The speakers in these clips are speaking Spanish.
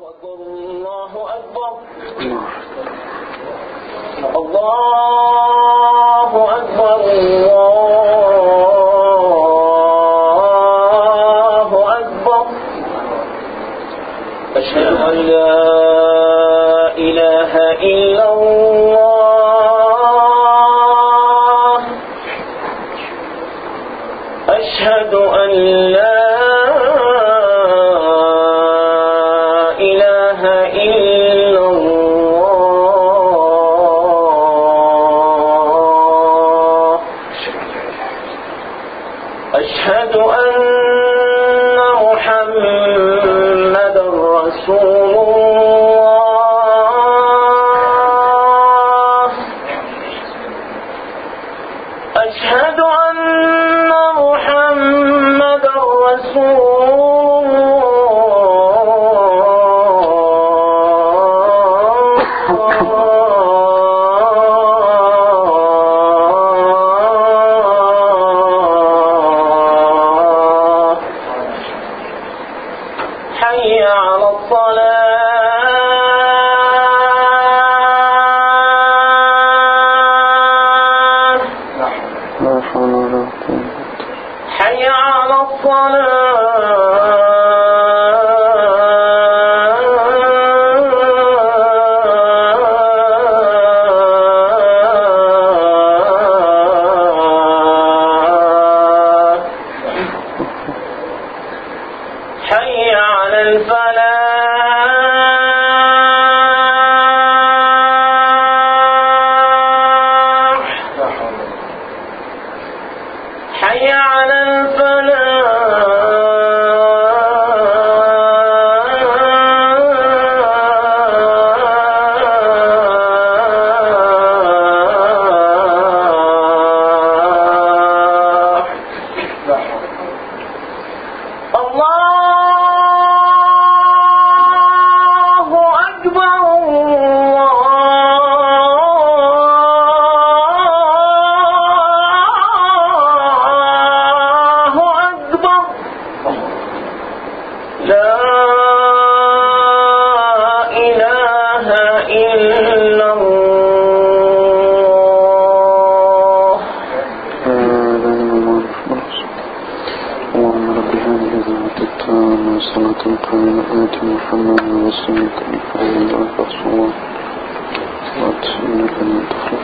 الله أكبر الله أكبر الله أكبر أشهد أن لا إله إلا الله أشهد أن لا أشهد أن محمدا رسول الله أشهد أن محمدا رسول حي على الصلاة لا حول ولا قوة حي على حي على الفلاح حي على الفلاح الله أكبر الله أكبر لا إله إلا الله اللهم رب هذه الدعوة التامة والصلاة القائمة آت محمدا وسلمك محمدا رسول الله وأتمنى أن تخلف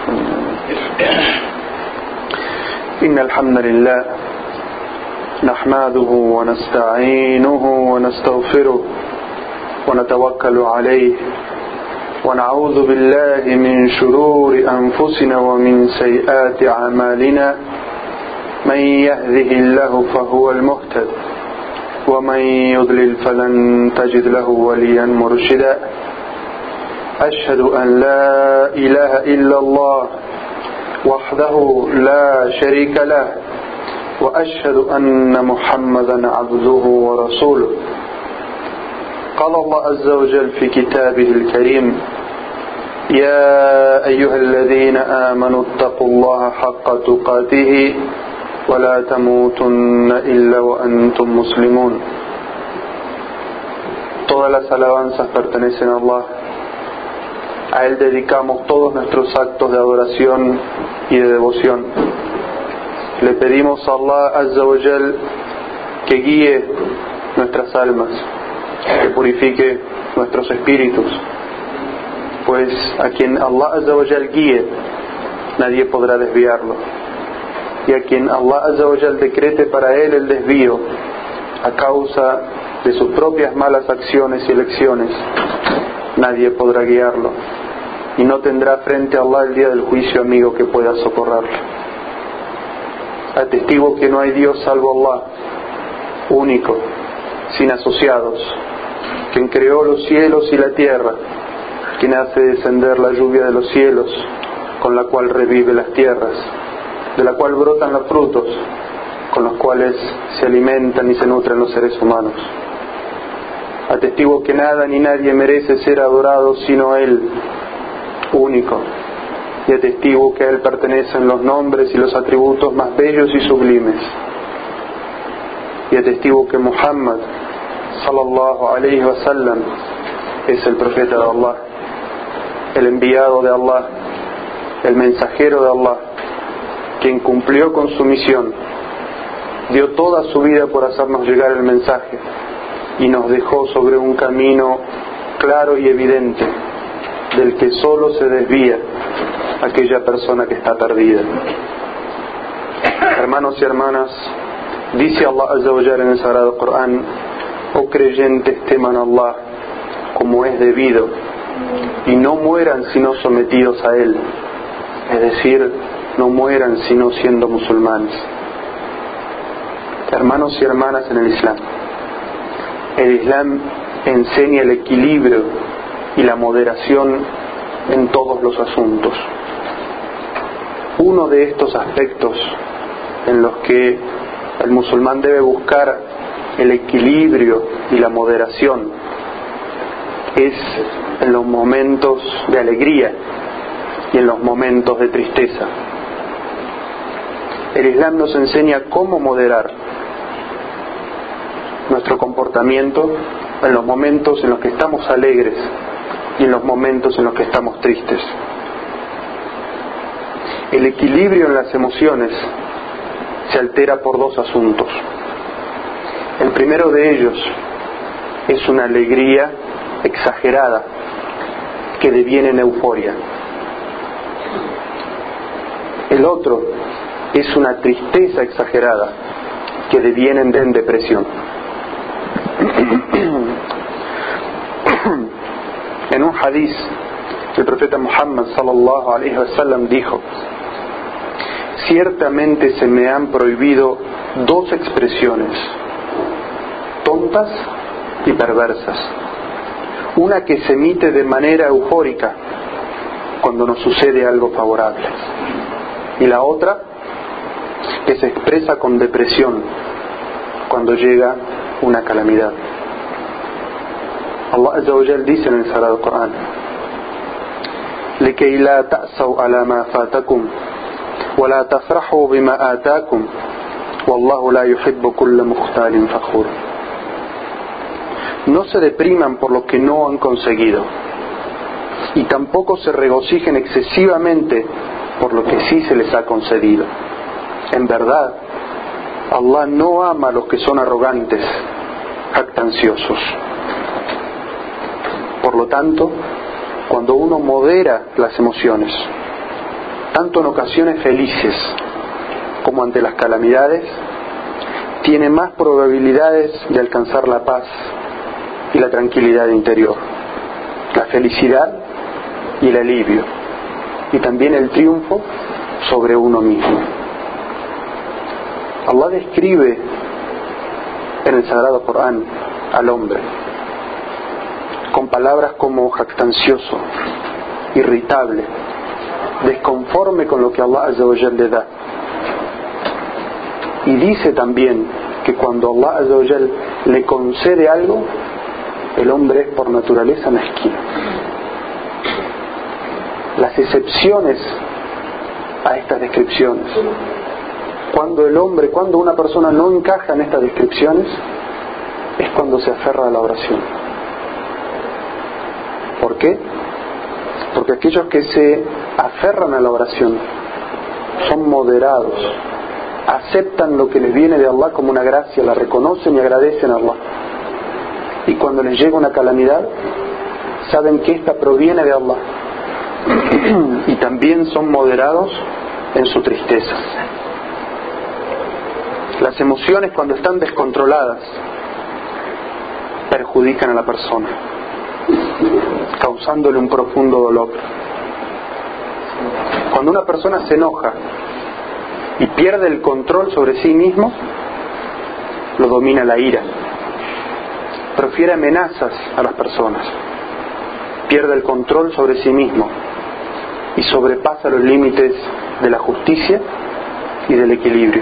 إن الحمد لله نحمده ونستعينه ونستغفره ونتوكل عليه ونعوذ بالله من شرور أنفسنا ومن سيئات أعمالنا من يهده الله فهو المهتد ومن يضلل فلن تجد له وليا مرشدا أشهد أن لا إله إلا الله وحده لا شريك له وأشهد أن محمدا عبده ورسوله قال الله عز وجل في كتابه الكريم يا أيها الذين آمنوا اتقوا الله حق تقاته ولا تموتن إلا وأنتم مسلمون. Todas las alabanzas pertenecen a Allah. A Él dedicamos todos nuestros actos de adoración y de devoción. Le pedimos a Allah Azza wa Jal que guíe nuestras almas, que purifique nuestros espíritus, pues a quien Allah Azza wa Jal guíe, nadie podrá desviarlo. Y a quien Allah Azza wa Jal decrete para él el desvío a causa de sus propias malas acciones y elecciones, nadie podrá guiarlo y no tendrá frente a Allah el día del juicio amigo que pueda socorrerlo. Atestigo que no hay Dios salvo Allah, único, sin asociados, quien creó los cielos y la tierra, quien hace descender la lluvia de los cielos, con la cual revive las tierras, de la cual brotan los frutos, con los cuales se alimentan y se nutren los seres humanos. Atestigo que nada ni nadie merece ser adorado sino Él, único, y atestigo que a Él pertenecen los nombres y los atributos más bellos y sublimes. Y atestigo que Muhammad sallallahu alayhi wa sallam es el profeta de Allah, el enviado de Allah, el mensajero de Allah, quien cumplió con su misión, dio toda su vida por hacernos llegar el mensaje y nos dejó sobre un camino claro y evidente del que solo se desvía aquella persona que está perdida. Hermanos y hermanas, dice Allah Azza wa Jalla en el Sagrado Corán: oh creyentes, teman a Allah como es debido y no mueran sino sometidos a Él, es decir, no mueran sino siendo musulmanes. Hermanos y hermanas en el Islam enseña el equilibrio y la moderación en todos los asuntos. Uno de estos aspectos en los que el musulmán debe buscar el equilibrio y la moderación es en los momentos de alegría y en los momentos de tristeza. El Islam nos enseña cómo moderar nuestro comportamiento en los momentos en los que estamos alegres y en los momentos en los que estamos tristes. El equilibrio en las emociones se altera por dos asuntos. El primero de ellos es una alegría exagerada que deviene en euforia. El otro es una tristeza exagerada que deviene en depresión. En un hadiz, el profeta Muhammad sallallahu alaihi wasallam dijo: ciertamente se me han prohibido dos expresiones, tontas y perversas. Una que se emite de manera eufórica cuando nos sucede algo favorable, y la otra que se expresa con depresión cuando llega una calamidad. Allah Azza wa Jal dice en el Sagrado Corán: لكي لا تأسوا على ما فاتكم ولا تفرحوا بما آتاكم والله لا يحب كل مختال فخور. No se depriman por lo que no han conseguido y tampoco se regocijen excesivamente por lo que sí se les ha concedido. En verdad, Allah no ama a los que son arrogantes, jactanciosos. Por lo tanto, cuando uno modera las emociones, tanto en ocasiones felices como ante las calamidades, tiene más probabilidades de alcanzar la paz y la tranquilidad interior, la felicidad y el alivio, y también el triunfo sobre uno mismo. Allah describe en el Sagrado Corán al hombre con palabras como jactancioso, irritable, desconforme con lo que Allah Azza wa Jal le da. Y dice también que cuando Allah Azza wa Jal le concede algo, el hombre es por naturaleza mezquino. Las excepciones a estas descripciones, cuando una persona no encaja en estas descripciones, es cuando se aferra a la oración. ¿Por qué? Porque aquellos que se aferran a la oración son moderados, aceptan lo que les viene de Allah como una gracia, la reconocen y agradecen a Allah. Y cuando les llega una calamidad, saben que esta proviene de Allah. Y también son moderados en su tristeza. Las emociones, cuando están descontroladas, perjudican a la persona, causándole un profundo dolor. Cuando una persona se enoja y pierde el control sobre sí mismo, lo domina la ira. Profiere amenazas a las personas, pierde el control sobre sí mismo y sobrepasa los límites de la justicia y del equilibrio.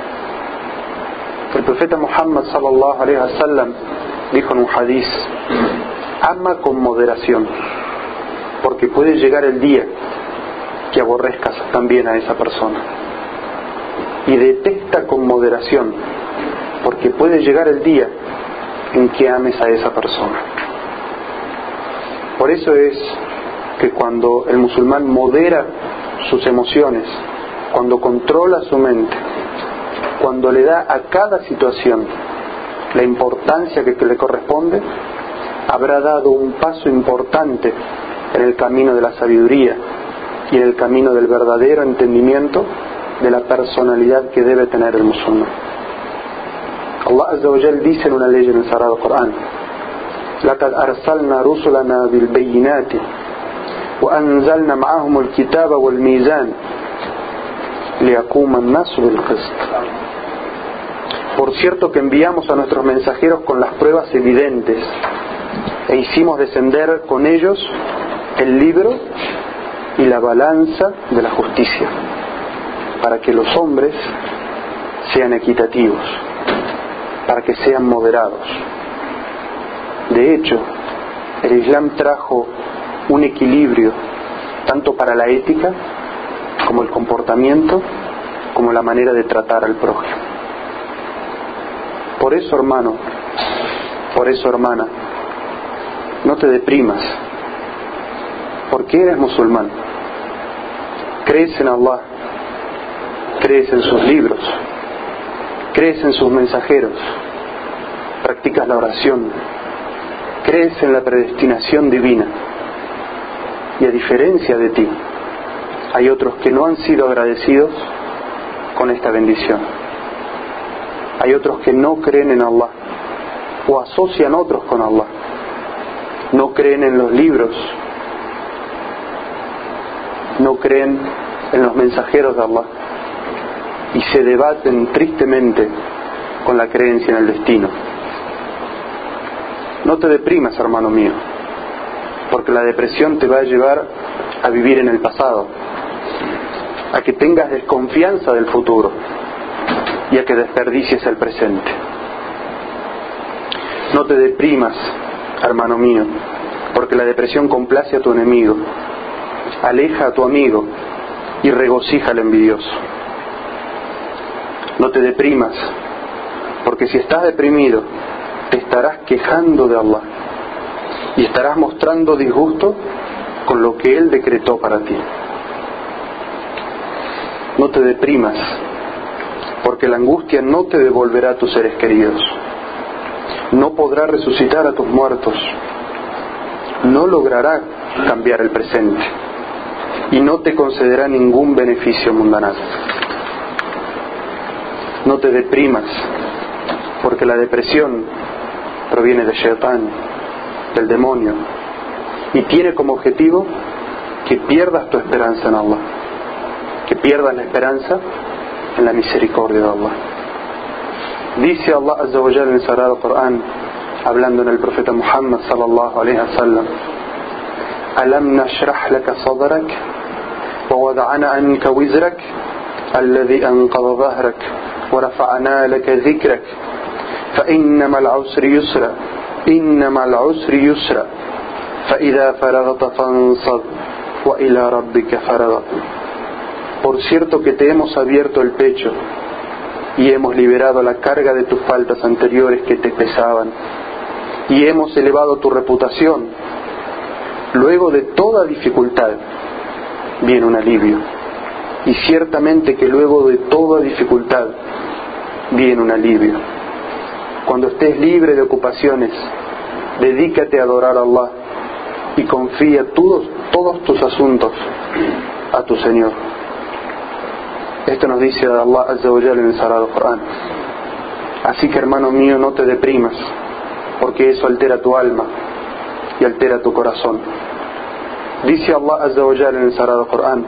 El profeta Muhammad sallallahu alaihi wasallam dijo en un hadiz: ama con moderación, porque puede llegar el día que aborrezcas también a esa persona. Y detesta con moderación, porque puede llegar el día en que ames a esa persona. Por eso es que cuando el musulmán modera sus emociones, cuando controla su mente, cuando le da a cada situación la importancia que le corresponde, habrá dado un paso importante en el camino de la sabiduría y en el camino del verdadero entendimiento de la personalidad que debe tener el musulmán. Allah Azza wa Jal dice en una ley en el Sagrado Corán: لَقَدْ أَرْسَلْنَا رُسُلَنَا بِالْبَيِّنَاتِ وَأَنزَلْنَا مَعَهُمُ الْكِتَابَ وَالْمِيزَانَ لِيَقُومَ النَّاسُ بِالْقِسْطِ. Por cierto que enviamos a nuestros mensajeros con las pruebas evidentes e hicimos descender con ellos el libro y la balanza de la justicia, para que los hombres sean equitativos, para que sean moderados. De hecho, el Islam trajo un equilibrio tanto para la ética como el comportamiento, como la manera de tratar al prójimo. Por eso, hermano, por eso, hermana, no te deprimas, porque eres musulmán, crees en Allah, crees en sus libros, crees en sus mensajeros, practicas la oración, crees en la predestinación divina. Y a diferencia de ti, hay otros que no han sido agradecidos con esta bendición. Hay otros que no creen en Allah o asocian otros con Allah. No creen en los libros, no creen en los mensajeros de Allah y se debaten tristemente con la creencia en el destino. No te deprimas, hermano mío, porque la depresión te va a llevar a vivir en el pasado, a que tengas desconfianza del futuro y a que desperdicies el presente. No te deprimas, hermano mío, porque la depresión complace a tu enemigo, aleja a tu amigo y regocija al envidioso. No te deprimas, porque si estás deprimido, te estarás quejando de Allah y estarás mostrando disgusto con lo que Él decretó para ti. No te deprimas, porque la angustia no te devolverá a tus seres queridos, no podrá resucitar a tus muertos, no logrará cambiar el presente y no te concederá ningún beneficio mundanal. No te deprimas, porque la depresión proviene de Shaitán, del demonio, y tiene como objetivo que pierdas tu esperanza en Allah, que pierdas la esperanza en la misericordia de Allah. Dice Allah Azza wa Jalla en el Sagrado Corán, hablando en el profeta Muhammad sallallahu alaihi wasallam: أَلَمْ نَشْرَحْ لَكَ صَدْرَكَ وَوَضَعْنَا عَنْكَ وِزْرَكَ الَّذِي أَنْقَضَ ظَهْرَكَ وَرَفَعْنَا لَكَ ذِكْرَكَ فَإِنَّ مَعَ الْعُسْرِ يُسْرًا إِنَّ مَعَ الْعُسْرِ يُسْرًا فَإِذَا فَرَغْتَ فَانصَبْ وَإِلَى رَبِّكَ فَارْغَب. Por cierto que te hemos abierto el pecho y hemos liberado la carga de tus faltas anteriores que te pesaban, y hemos elevado tu reputación. Luego de toda dificultad viene un alivio, y ciertamente que luego de toda dificultad viene un alivio. Cuando estés libre de ocupaciones, dedícate a adorar a Allah y confía todos tus asuntos a tu Señor. Esto nos dice Allah Azza wa Jalla en el Sagrado Corán. Así que, hermano mío, no te deprimas, porque eso altera tu alma y altera tu corazón. Dice Allah Azza wa Jalla en el Sagrado Corán: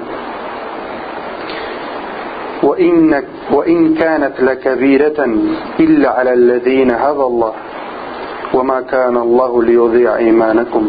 وَإِنْ كَانَتْ لَكَبِيرَةً إِلَّا عَلَى الَّذِينَ هَدَى اللَّهُ وَمَا كَانَ اللَّهُ لِيُضِيعَ إِيمَانَكُمْ.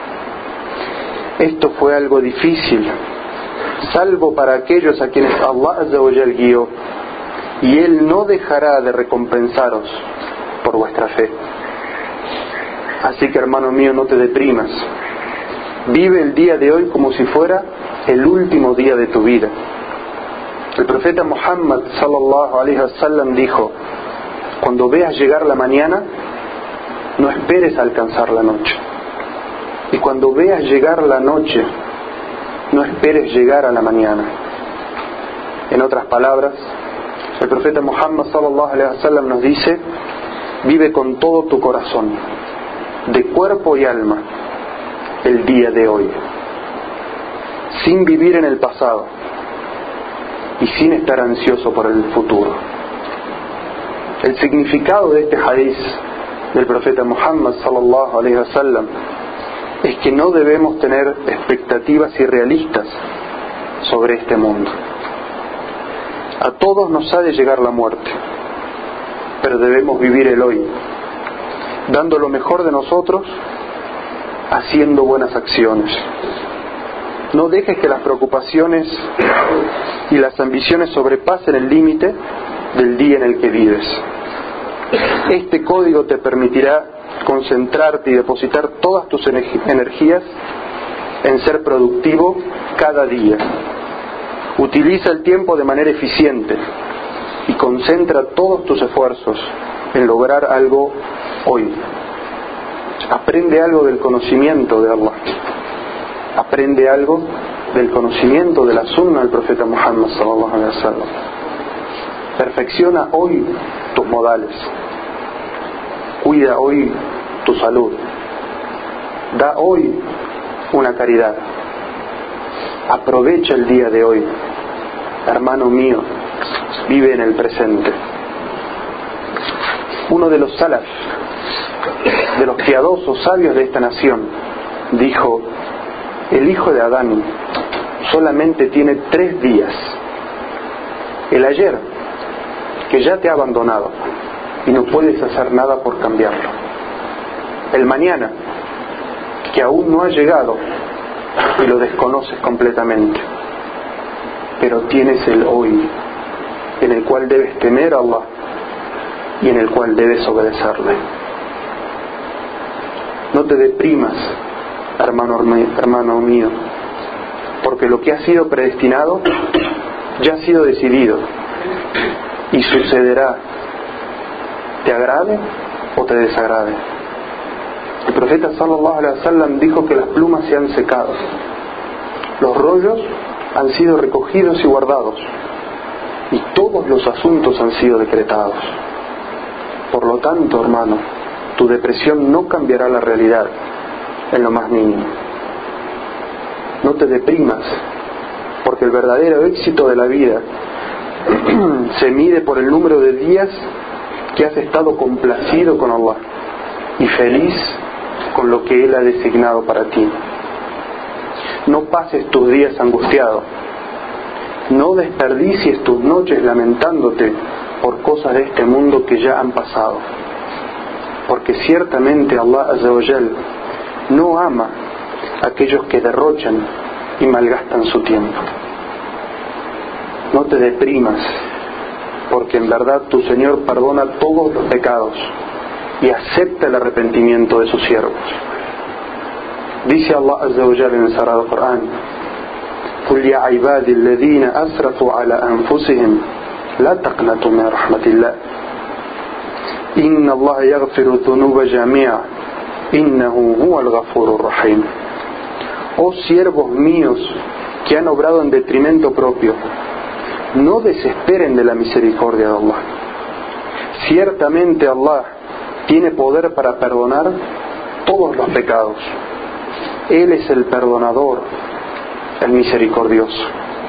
Esto fue algo difícil, salvo para aquellos a quienes Allah Azza wa Jal guió, y Él no dejará de recompensaros por vuestra fe. Así que, hermano mío, no te deprimas. Vive el día de hoy como si fuera el último día de tu vida. El profeta Muhammad sallallahu alaihi wasallam dijo: cuando veas llegar la mañana, no esperes a alcanzar la noche. Y cuando veas llegar la noche, no esperes llegar a la mañana. En otras palabras, el profeta Muhammad sallallahu alaihi wasallam nos dice: vive con todo tu corazón, de cuerpo y alma, el día de hoy, sin vivir en el pasado y sin estar ansioso por el futuro. El significado de este hadiz del profeta Muhammad sallallahu alaihi wasallam es que no debemos tener expectativas irrealistas sobre este mundo. A todos nos ha de llegar la muerte, pero debemos vivir el hoy, dando lo mejor de nosotros, haciendo buenas acciones. No dejes que las preocupaciones y las ambiciones sobrepasen el límite del día en el que vives. Este código te permitirá concentrarte y depositar todas tus energías en ser productivo cada día. Utiliza el tiempo de manera eficiente y concentra todos tus esfuerzos en lograr algo hoy. Aprende algo del conocimiento de Allah. Aprende algo del conocimiento de la sunna del profeta Muhammad sallallahu alaihi wasallam. Perfecciona hoy tus modales. Cuida hoy tu salud. Da hoy una caridad. Aprovecha el día de hoy. Hermano mío, vive en el presente. Uno de los salaf, de los piadosos sabios de esta nación, dijo: el hijo de Adán solamente tiene 3 días. El ayer, que ya te ha abandonado y no puedes hacer nada por cambiarlo. El mañana, que aún no ha llegado y lo desconoces completamente. Pero tienes el hoy, en el cual debes temer a Allah y en el cual debes obedecerle. No te deprimas, hermano mío, porque lo que ha sido predestinado ya ha sido decidido y sucederá, te agrade o te desagrade. El profeta sallallahu alaihi wasallam dijo que las plumas se han secado, los rollos han sido recogidos y guardados, y todos los asuntos han sido decretados. Por lo tanto, hermano, tu depresión no cambiará la realidad en lo más mínimo. No te deprimas, porque el verdadero éxito de la vida se mide por el número de días que has estado complacido con Allah y feliz con lo que Él ha designado para ti. No pases tus días angustiado. No desperdicies tus noches lamentándote por cosas de este mundo que ya han pasado. Porque ciertamente Allah Azza wa Jal no ama a aquellos que derrochan y malgastan su tiempo. No te deprimas, porque en verdad tu Señor perdona todos los pecados y acepta el arrepentimiento de sus siervos. Dice Allah Azza wa Jalla en el Sagrado Corán: قل يا عبادي الذين أسرفوا على أنفسهم لا تقنطوا من رحمة الله إن الله يغفر الذنوب جميعا إنه هو الغفور الرحيم. Oh siervos míos que han obrado en detrimento propio, no desesperen de la misericordia de Allah. Ciertamente Allah tiene poder para perdonar todos los pecados. Él es el perdonador, el misericordioso.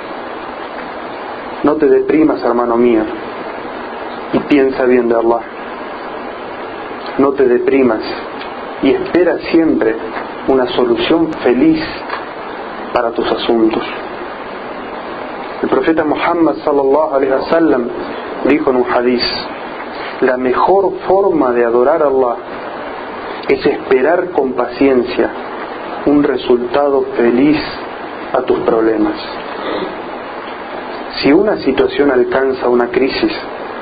No te deprimas, hermano mío, y piensa bien de Allah. No te deprimas y espera siempre una solución feliz para tus asuntos. El profeta Muhammad sallallahu alaihi wasallam dijo en un hadiz: la mejor forma de adorar a Allah es esperar con paciencia un resultado feliz a tus problemas. Si una situación alcanza una crisis,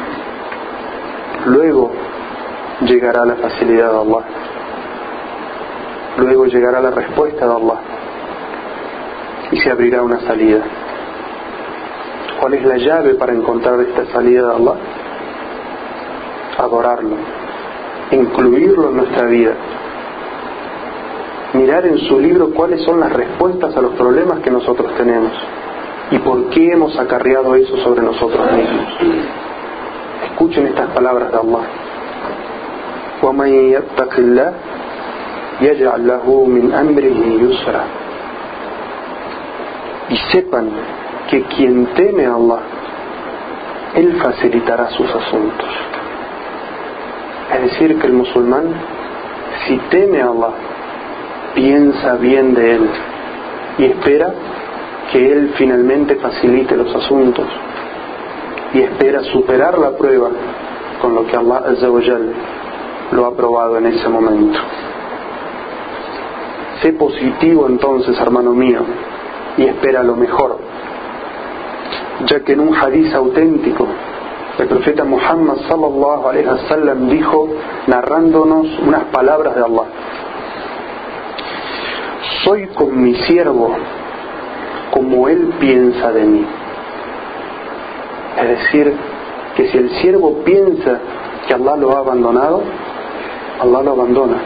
luego llegará la facilidad de Allah, luego llegará la respuesta de Allah y se abrirá una salida. ¿Cuál es la llave para encontrar esta salida de Allah? Adorarlo, incluirlo en nuestra vida, mirar en su libro cuáles son las respuestas a los problemas que nosotros tenemos y por qué hemos acarreado eso sobre nosotros mismos. Escuchen estas palabras de Allah. وَمَنْ يَتَّقِ اللَّهَ يَجْعَلْ لَهُ مِنْ أَمْرِهِ يُسْرًا. Y sepan que quien teme a Allah, Él facilitará sus asuntos. Es decir, que el musulmán, si teme a Allah, piensa bien de Él y espera que Él finalmente facilite los asuntos y espera superar la prueba con lo que Allah Azza wa Jal lo ha probado en ese momento. Sé positivo entonces, hermano mío, y espera lo mejor, ya que en un hadiz auténtico el profeta Muhammad sallallahu alaihi wasallam dijo, narrándonos unas palabras de Allah: soy con mi siervo como él piensa de mí. Es decir, que si el siervo piensa que Allah lo ha abandonado, Allah lo abandona.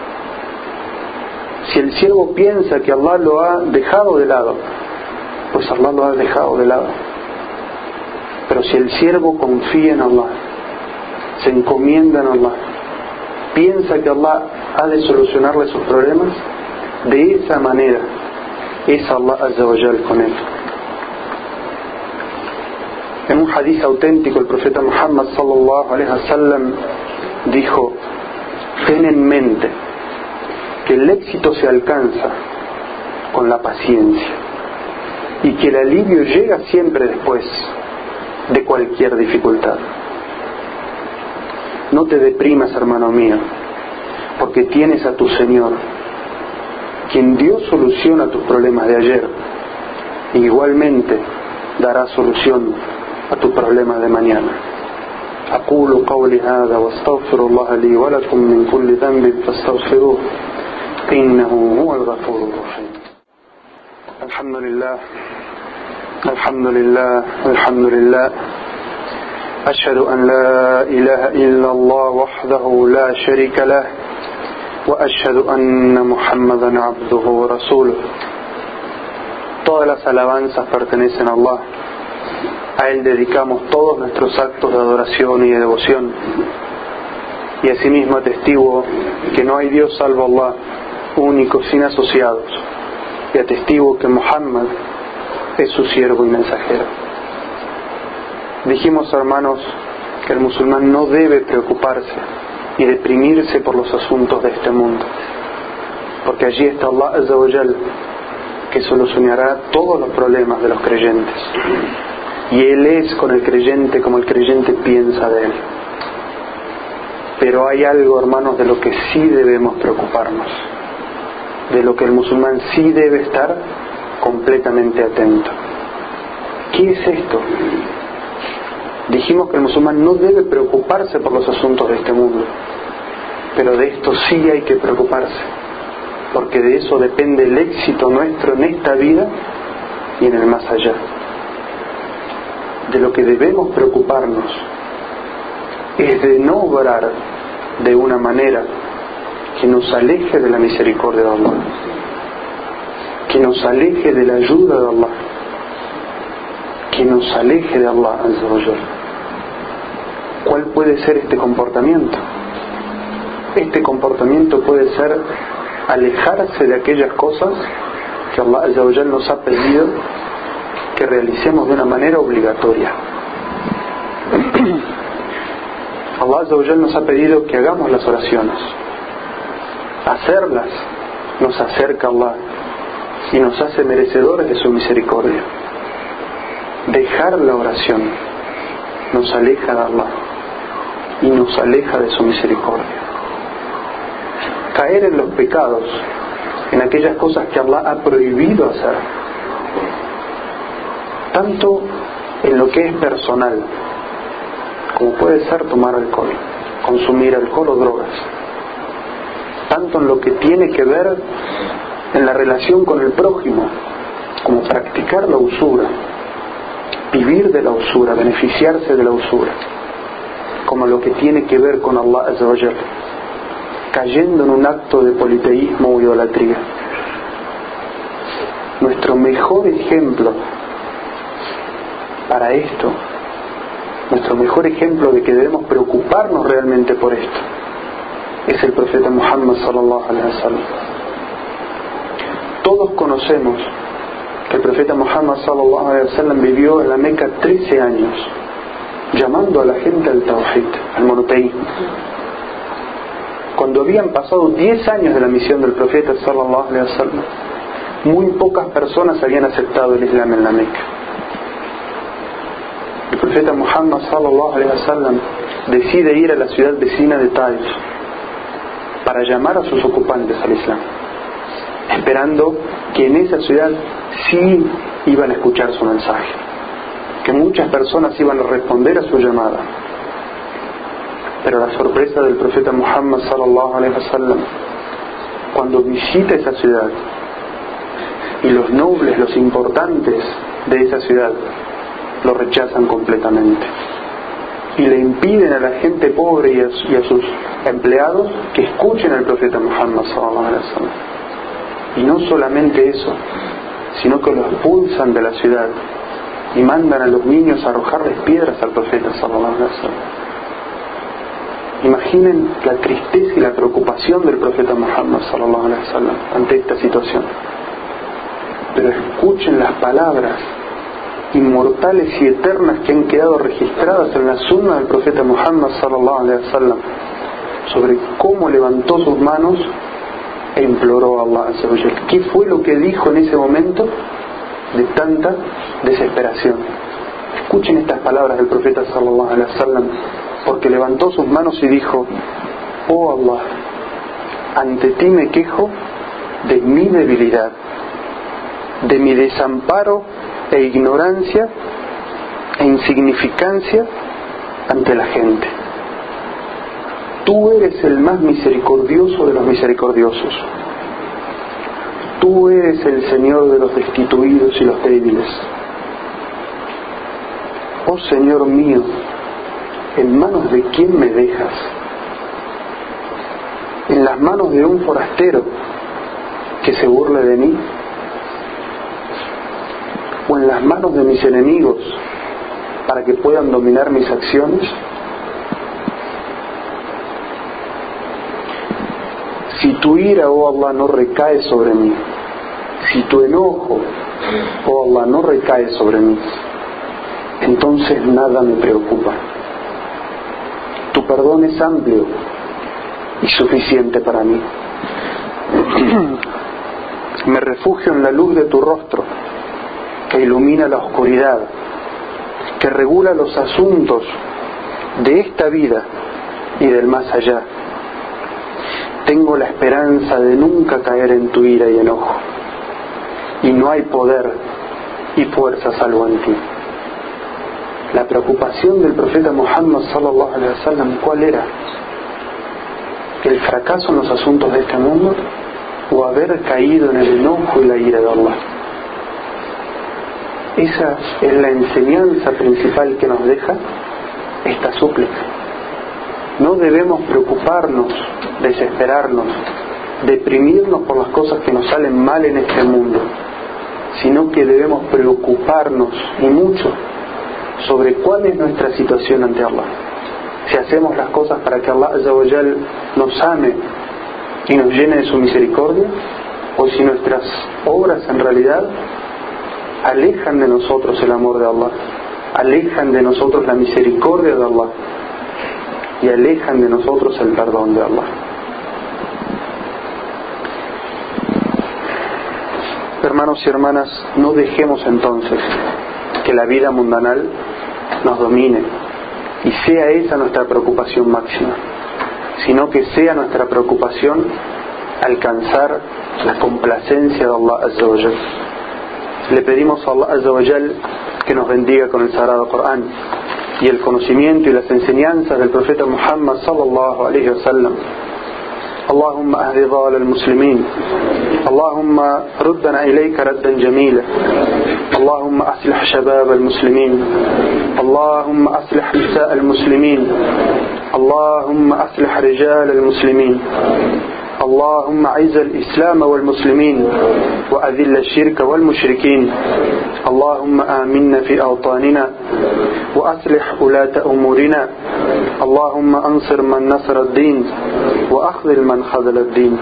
Si el siervo piensa que Allah lo ha dejado de lado, pues Allah lo ha dejado de lado. Pero si el siervo confía en Allah, se encomienda en Allah, piensa que Allah ha de solucionarle sus problemas, de esa manera es Allah Azza wa Jal con él. En un hadith auténtico el profeta Muhammad sallallahu alaihi wasallam dijo: ten en mente que el éxito se alcanza con la paciencia y que el alivio llega siempre después de cualquier dificultad. No te deprimas, hermano mío, porque tienes a tu Señor, quien dio solución a tus problemas de ayer, e igualmente dará solución a tus problemas de mañana. أقول قولي هذا واستغفر الله لي ولكم من كل ذنب فاستغفروه إنه هو الغفور الرحيم. الحمد لله الحمد لله الحمد لله أشهد أن لا إله إلا الله وحده لا شريك له وأشهد أن محمدا عبده ورسوله. Todas las alabanzas pertenecen a Allah. A Él dedicamos todos nuestros actos de adoración y de devoción. Y asimismo atestiguo que no hay Dios salvo Allah, único, sin asociados. Y atestiguo que Muhammad es su siervo y mensajero. Dijimos, hermanos, que el musulmán no debe preocuparse y deprimirse por los asuntos de este mundo, porque allí está Allah Azza wa Jal, que solucionará todos los problemas de los creyentes, y Él es con el creyente como el creyente piensa de Él. Pero hay algo, hermanos, de lo que sí debemos preocuparnos, de lo que el musulmán sí debe estar completamente atento. ¿Qué es esto? Dijimos que el musulmán no debe preocuparse por los asuntos de este mundo, pero de esto sí hay que preocuparse, porque de eso depende el éxito nuestro en esta vida y en el más allá. De lo que debemos preocuparnos es de no obrar de una manera que nos aleje de la misericordia de Allah, que nos aleje de la ayuda de Allah, que nos aleje de Allah Azza wa Jal. ¿Cuál puede ser este comportamiento? Este comportamiento puede ser alejarse de aquellas cosas que Allah Azza wa Jal nos ha pedido que realicemos de una manera obligatoria. Allah Azza wa Jal nos ha pedido que hagamos las oraciones. Hacerlas nos acerca a Allah y nos hace merecedores de su misericordia. Dejar la oración nos aleja de Allah y nos aleja de su misericordia. Caer en los pecados, en aquellas cosas que Allah ha prohibido hacer, tanto en lo que es personal, como puede ser tomar alcohol, consumir alcohol o drogas, tanto en lo que tiene que ver en la relación con el prójimo, como practicar la usura, vivir de la usura, beneficiarse de la usura, como lo que tiene que ver con Allah Azza wa Jal. cayendo en un acto de politeísmo o idolatría. Nuestro mejor ejemplo para esto, nuestro mejor ejemplo de que debemos preocuparnos realmente por esto, es el profeta Muhammad sallallahu alaihi wasallam. Todos conocemos que el profeta Muhammad sallallahu alaihi wasallam vivió en la Meca 13 años, llamando a la gente al tawhid, al monoteísmo. Cuando habían pasado 10 años de la misión del profeta sallallahu alaihi wasallam, muy pocas personas habían aceptado el Islam en la Meca. El profeta Muhammad sallallahu alaihi wasallam decide ir a la ciudad vecina de Taif para llamar a sus ocupantes al Islam, esperando que en esa ciudad sí iban a escuchar su mensaje, que muchas personas iban a responder a su llamada. Pero la sorpresa del profeta Muhammad sallallahu alaihi wasallam, cuando visita esa ciudad y los nobles, los importantes de esa ciudad lo rechazan completamente y le impiden a la gente pobre y a sus empleados que escuchen al profeta Muhammad sallallahu alaihi wasallam. Y no solamente eso, sino que lo expulsan de la ciudad y mandan a los niños a arrojarles piedras al profeta sallallahu alaihi wasallam. Imaginen la tristeza y la preocupación del profeta Muhammad sallallahu alaihi wasallam ante esta situación. Pero escuchen las palabras inmortales y eternas que han quedado registradas en la sunna del profeta Muhammad sallallahu alaihi wasallam sobre cómo levantó sus manos e imploró a Allah azza wa jalla. ¿Qué fue lo que dijo en ese momento de tanta desesperación? Escuchen estas palabras del profeta sallallahu alaihi wasallam, porque levantó sus manos y dijo: oh Allah, ante ti me quejo de mi debilidad, de mi desamparo e ignorancia e insignificancia ante la gente. Tú eres el más misericordioso de los misericordiosos. Tú eres el Señor de los destituidos y los débiles. Oh Señor mío, ¿en manos de quién me dejas? ¿En las manos de un forastero que se burle de mí? ¿O en las manos de mis enemigos para que puedan dominar mis acciones? Si tu ira, oh Allah, no recae sobre mí, si tu enojo, oh Allah, no recae sobre mí, entonces nada me preocupa. Tu perdón es amplio y suficiente para mí. Me refugio en la luz de tu rostro, que ilumina la oscuridad, que regula los asuntos de esta vida y del más allá. Tengo la esperanza de nunca caer en tu ira y enojo, y no hay poder y fuerza salvo en ti. La preocupación del profeta Muhammad sallallahu alaihi wasallam, ¿cuál era? ¿El fracaso en los asuntos de este mundo o haber caído en el enojo y la ira de Allah? Esa es la enseñanza principal que nos deja esta súplica. No debemos preocuparnos, desesperarnos, deprimirnos por las cosas que nos salen mal en este mundo, sino que debemos preocuparnos y mucho sobre cuál es nuestra situación ante Allah. Si hacemos las cosas para que Allah azza wa jal nos ame y nos llene de su misericordia, o si nuestras obras en realidad alejan de nosotros el amor de Allah, alejan de nosotros la misericordia de Allah y alejan de nosotros el perdón de Allah. Hermanos y hermanas, no dejemos entonces que la vida mundanal nos domine y sea esa nuestra preocupación máxima, sino que sea nuestra preocupación alcanzar la complacencia de Allah azza wa jal. Le pedimos a Allah azza wa jal que nos bendiga con el Sagrado Corán y el conocimiento y las enseñanzas del profeta Muhammad sallallahu alaihi wasallam. اللهم أهد ضال المسلمين، اللهم ردنا إليك ردا جميلا، اللهم أصلح شباب المسلمين، اللهم أصلح نساء المسلمين، اللهم أصلح رجال المسلمين. اللهم أعز الإسلام والمسلمين وأذل الشرك والمشركين. اللهم آمنا في أوطاننا وأصلح ولاة أمورنا. اللهم أنصر من نصر الدين وأخذل من خذل الدين.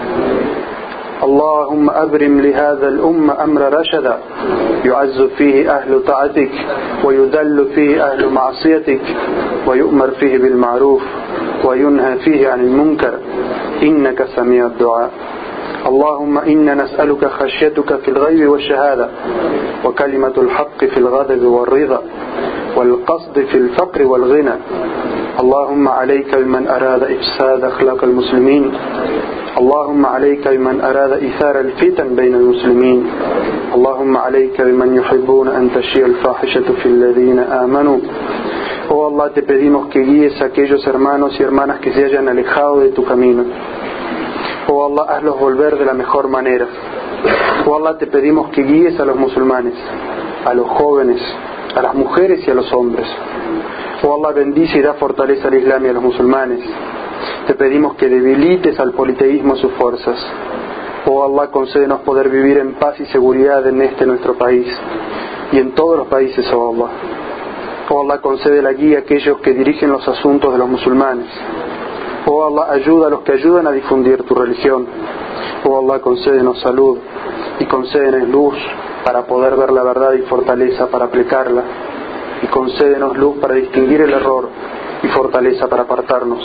اللهم أبرم لهذا الأمة أمر رشدا يعز فيه أهل طاعتك ويذل فيه أهل معصيتك ويؤمر فيه بالمعروف وينهى فيه عن المنكر إنك سميع الدعاء. اللهم إنا نسألك خشيتك في الغيب والشهادة وكلمة الحق في الغضب والرضا والقصد في الفقر والغنى. اللهم عليك بمن أراد إفساد أخلاق المسلمين. اللهم عليك بمن أراد إثار الفتن بين المسلمين. اللهم عليك بمن يحبون أن تشيع الفاحشة في الذين آمنوا. Oh Allah, te pedimos que guíes a aquellos hermanos y hermanas que se hayan alejado de tu camino. Oh Allah, hazlos volver de la mejor manera. Oh Allah, te pedimos que guíes a los musulmanes, a los jóvenes, a las mujeres y a los hombres. Oh Allah, bendice y da fortaleza al Islam y a los musulmanes. Te pedimos que debilites al politeísmo sus fuerzas. Oh Allah, concédenos poder vivir en paz y seguridad en este nuestro país y en todos los países, oh Allah. Oh Allah, concede la guía a aquellos que dirigen los asuntos de los musulmanes. Oh Allah, ayuda a los que ayudan a difundir tu religión. Oh Allah, concédenos salud y concédenos luz para poder ver la verdad y fortaleza para aplicarla. Y concédenos luz para distinguir el error y fortaleza para apartarnos.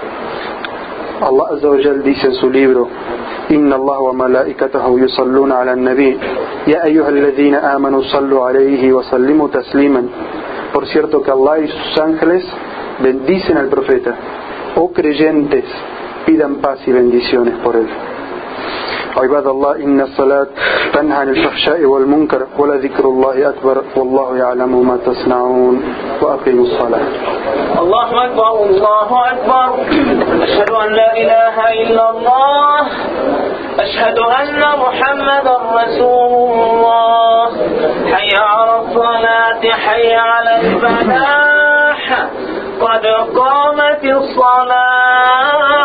Allah Azza wa Jal dice en su libro: Inna Allah wa malaikatahu yusalluna ala an-nabi ya ayyuhalladhina amanu sallu alayhi wa sallimu tasliman. Por cierto que Allah y sus ángeles bendicen al profeta. Oh creyentes, pidan paz y bendiciones por él. عباد الله إن الصلاة تنهى عن الفحشاء والمنكر ولذكر الله أكبر والله يعلم ما تصنعون وأقيموا الصلاة. الله أكبر الله أكبر. أشهد أن لا إله إلا الله. أشهد أن محمدا رسول الله. حي على الصلاة حي على الفلاح قد قامت الصلاة